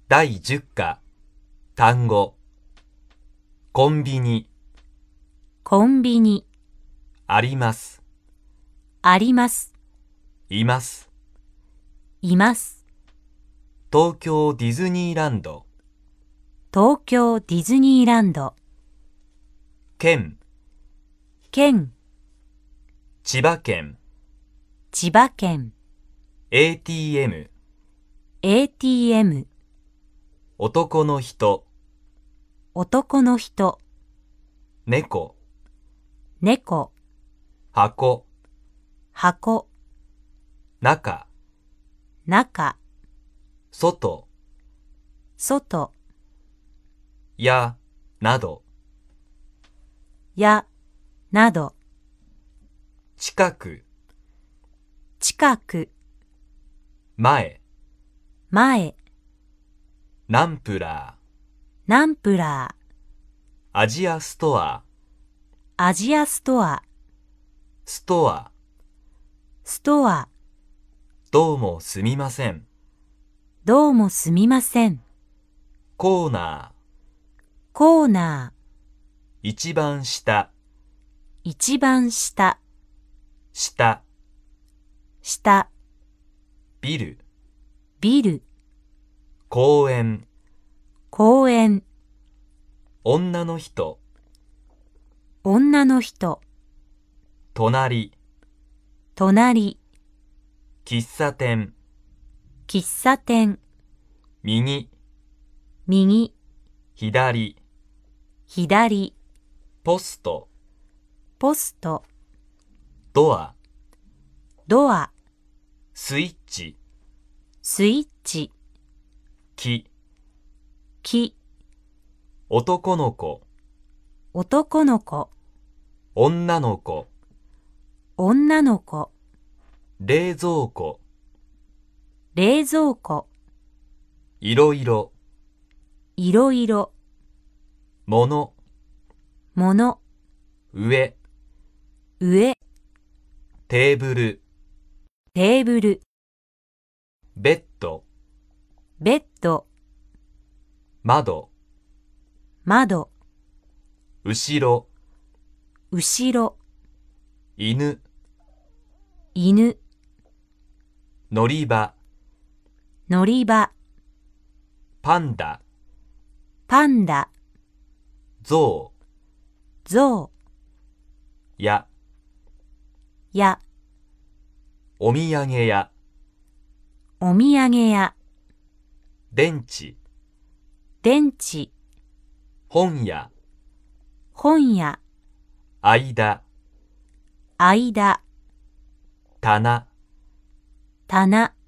第10課、単語。コンビニ、 コンビニ、 あります、 あります、 います。 います。 東京ディズニーランド、 東京ディズニーランド、 県、 県、 千葉県、 千葉県、 ATM、 ATM、 男の人、 男の人、 猫、 猫、 箱、 箱、 中、 中、 外、 外、 や、など、 や、など、 近く、 近く、 前、 前、 ナンプラー、 ナンプラー、 アジアストア、 アジアストア、 ストア、 ストア、 どうもすみません。 どうもすみません。 コーナー、 コーナー、 一番下、 一番下、 下、 下、 ビル、 ビル、 公園、 公園、 女の人、 女の人、 隣、 隣、 喫茶店、 喫茶店、 右、 右、 左、 左、 ポスト、 ポスト、 ドア、 ドア、 スイッチ、 スイッチ、 木、 木、 男の子、 男の子、 女の子、 女の子、 冷蔵庫、 冷蔵庫、 いろいろ、 いろいろ、 もの、 もの、 上、 上、 テーブル、 テーブル、 ベッド、 ベッド、 窓、 窓、 後ろ、 後ろ、 犬、 犬、 乗り場、 乗り場、 パンダ、 パンダ、 ゾウ、 ゾウ、 や、 や、 お土産屋、 お土産屋、 電池、 電池、 本屋、 本屋、 間、 間、 棚、 棚、